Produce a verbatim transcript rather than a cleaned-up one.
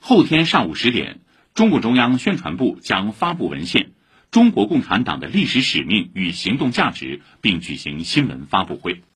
后天上午十点，中共中央宣传部将发布文献《中国共产党的历史使命与行动价值》，并举行新闻发布会。